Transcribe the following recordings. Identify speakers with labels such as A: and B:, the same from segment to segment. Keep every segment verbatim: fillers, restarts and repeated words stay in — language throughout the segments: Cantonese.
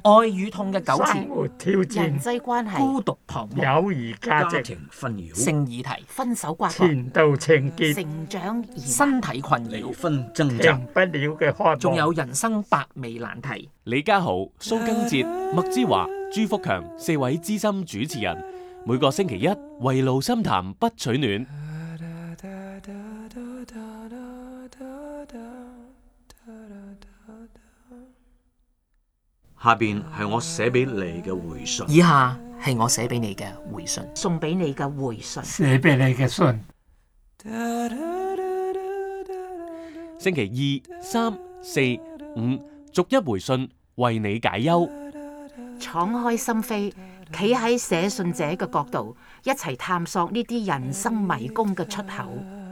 A: 愛與痛嘅糾
B: 生
A: 纏、
B: 活挑
C: 人
B: 戰、
C: 際關係、
A: 孤獨彷徨、
B: 友誼價值、
D: 家庭紛擾、
A: 性議題、
C: 分手瓜葛、
B: 前度情結、
C: 成長疑難、
A: 身體困
D: 離
A: 擾，
D: 婚掙
B: 停
D: 扎，
B: 不了嘅渴望。
A: 仲有人生百味難題。
E: 李家豪、蘇根哲、麥之華、朱福強四位資深主持人，每個星期一圍爐深談不取暖。
D: 下邊係我寫俾你嘅回信。
A: 以下係我寫俾你嘅回信。
C: 送俾你嘅回信。
B: 寫俾你嘅信，
E: 星期二、三、四、五逐一回信，為你解憂。
C: 敞開心扉，企喺寫信者嘅角度，一齊探索呢啲人生迷宮嘅出口。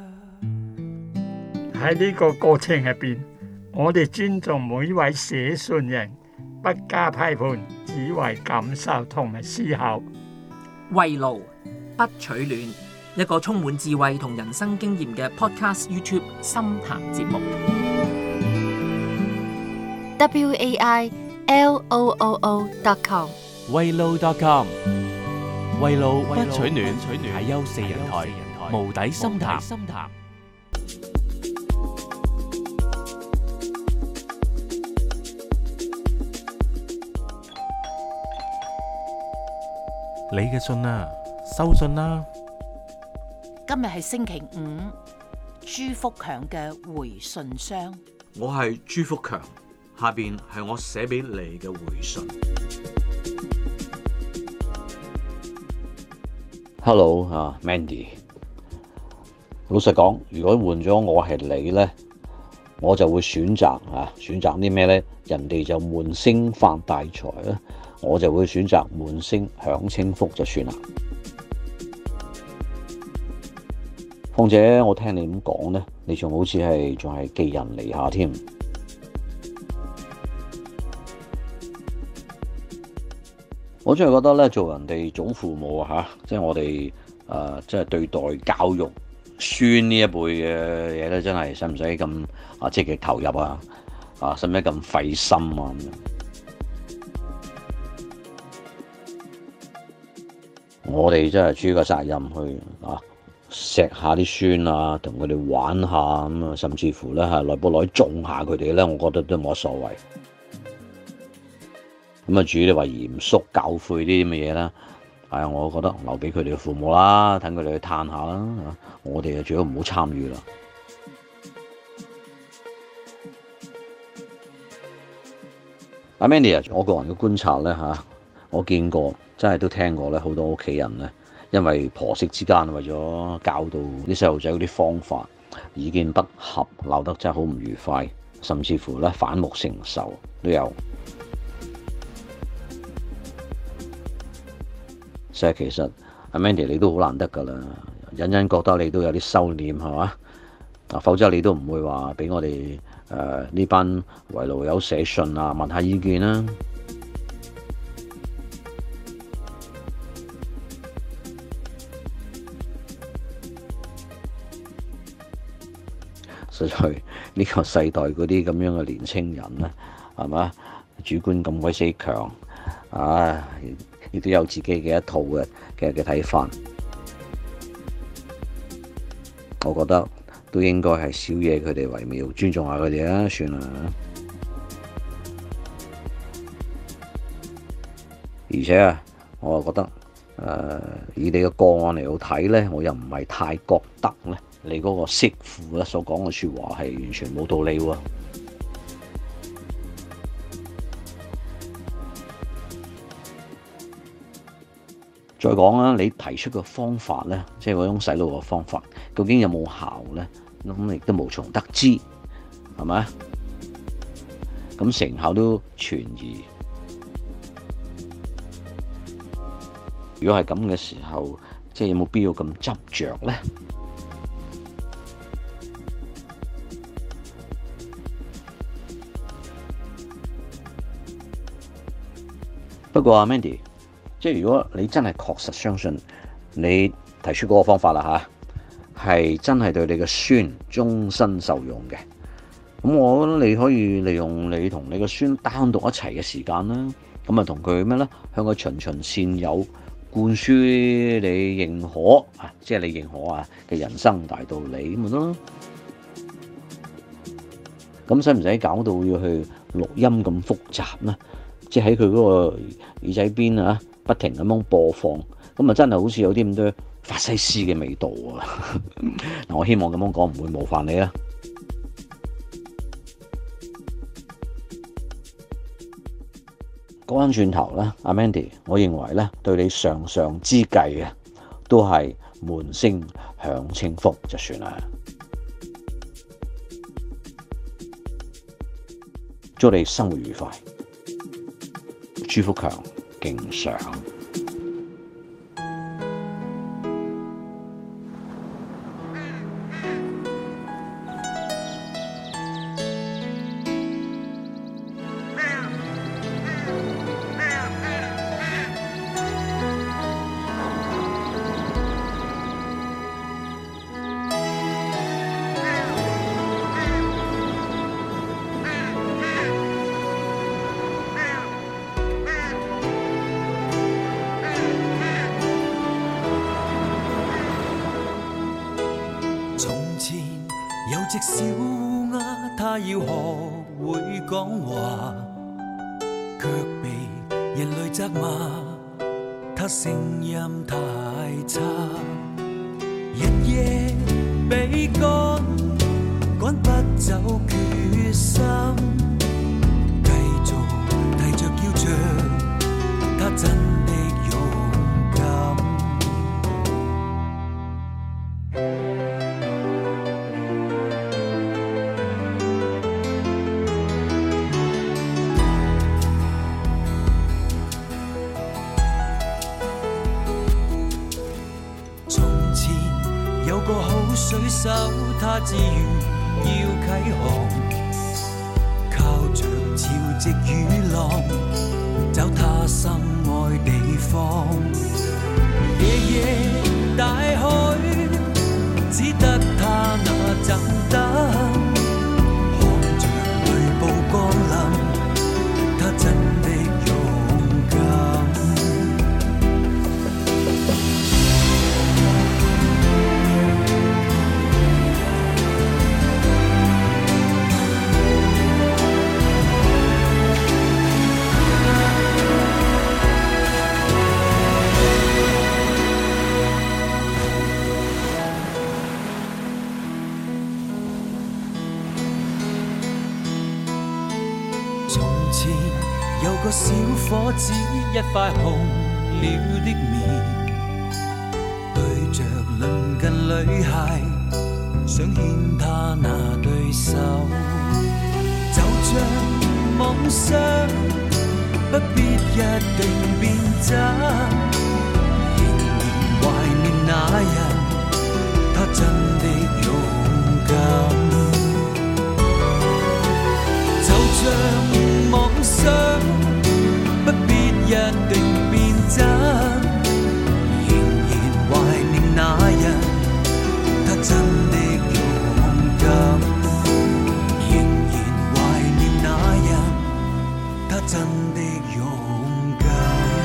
B: 喺呢個過程入邊，我哋尊重每一位寫信人，不加批判，只為感受同埋思考。
A: 圍爐不取暖，一個充滿智慧同人生經驗嘅 Podcast YouTube 深談節目。
F: W A I L O O O dot com
E: 圍爐 dot com 圍爐不取暖，解憂四人台，無底深談。你嘅信啊，收信啦！
C: 今日係星期五，朱福強嘅回信箱。
D: 我係朱福強，下邊係我寫俾你嘅回信。
G: Hello 啊 ，Mandy。老實講，如果換咗我係你呢，我就會選擇啊，選擇啲咩呢？人哋就悶聲發大財啦，我就會選擇悶聲享清福就算啦。況且我聽你咁講呢，你仲好似係仲係寄人籬下添。我真係覺得咧，做人哋祖父母啊，嚇，即係我哋誒，即係對待教育孫呢一輩嘅嘢咧，真係使唔使咁啊積極投入啊？啊，使唔使咁費心啊？咁樣，我哋真係主個責任去啊，錫下啲孫啊，同佢哋玩下咁啊，甚至乎咧係耐不耐縱下佢哋咧，我覺得都冇乜所謂。咁啊，至於你話嚴肅教誨啲咁嘅嘢啦，係啊，我覺得留俾佢哋嘅父母啦，等佢哋去嘆下啦。我哋啊，最好唔好參與啦。阿 Mandy 啊，我個人嘅觀察咧嚇，我見過，真係都聽過咧，好多屋企人咧，因為婆媳之間為咗教導啲細路仔嗰啲方法，意見不合，鬧得真係好唔愉快，甚至乎咧反目成仇都有。所以其實阿 Mandy 你都好難得㗎啦，隱隱覺得你都有啲收斂係嘛？啊，否則你都唔會話俾我哋誒呢班圍爐友寫信啊，問下意見啦。實在呢個世代嗰啲咁樣嘅年青人咧，係嘛？主觀咁鬼死強，啊！亦都有自己嘅一套嘅嘅嘅睇法，我覺得都應該係少嘢佢哋為妙，尊重下佢哋啦，算啦。而且啊，我又覺得誒、呃，以你嘅個案嚟到睇咧，我又唔係太覺得咧，你嗰個媳婦咧所講嘅説話係完全冇道理喎。再講啦，你提出嘅方法呢，即係嗰種洗腦嘅方法，究竟有冇效呢？咁亦都無從得知，係咪？咁成效都存疑。如果係咁嘅時候，即係有冇必要咁執着呢？不過阿 Mandy，即係如果你真係確實相信你提出嗰個方法啦嚇，係真係對你嘅孫終身受用嘅， 咁我覺得你可以利用你同你個孫單獨一齊嘅時間啦，咁啊同佢咩咧，向佢循循善誘，灌輸你認可啊，即係你認可啊嘅人生大道理咁咪得咯。咁使唔使搞到要去錄音咁複雜呢？即係喺佢嗰個耳仔邊啊，不停咁樣播放，咁啊真係好似有啲咁多法西斯嘅味道啊！嗱，我希望咁樣講唔會冒犯你啦。講返轉頭咧，阿 Mandy，我認為咧對你上上之計啊，都係門聲響清福就算啦。祝你生活愉快，朱福強敬上。
H: 有隻小烏鴉，它要學會講話，卻被人類責罵，它聲音太差。日夜被趕，趕不走決心，繼續提着叫着，它真的勇敢。有個好水手，他志願要啟航，靠着潮汐與浪，找他心愛地方。夜夜大海，只得他那盞燈，看着雷暴降臨，他真的勇敢。有個小伙子，一塊紅了的面，對着鄰近女孩，想牽她那對手，就像夢想，不必一定變真，仍然懷念那人，他真的勇敢，就像夢想不必一定變真，仍然懷念那人，他真的勇敢，仍然懷念那人，他真的勇敢。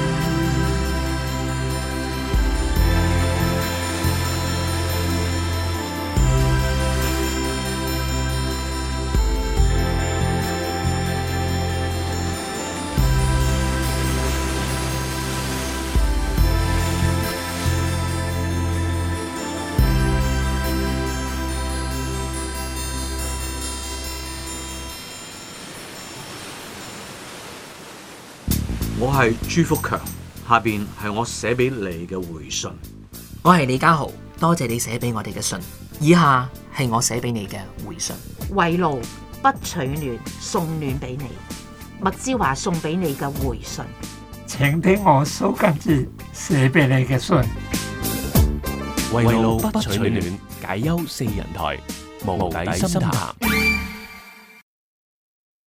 D: 我係朱福強，下邊係我寫俾你嘅回信。
A: 我係李家豪，多謝你寫俾我哋嘅信。以下係我寫俾你嘅回信。
C: 圍爐不取暖，送暖俾你。麥之華送俾你嘅回信。
B: 請聽我蘇賡哲寫俾你嘅信。
E: 圍爐不取暖，解憂四人台，無底深談。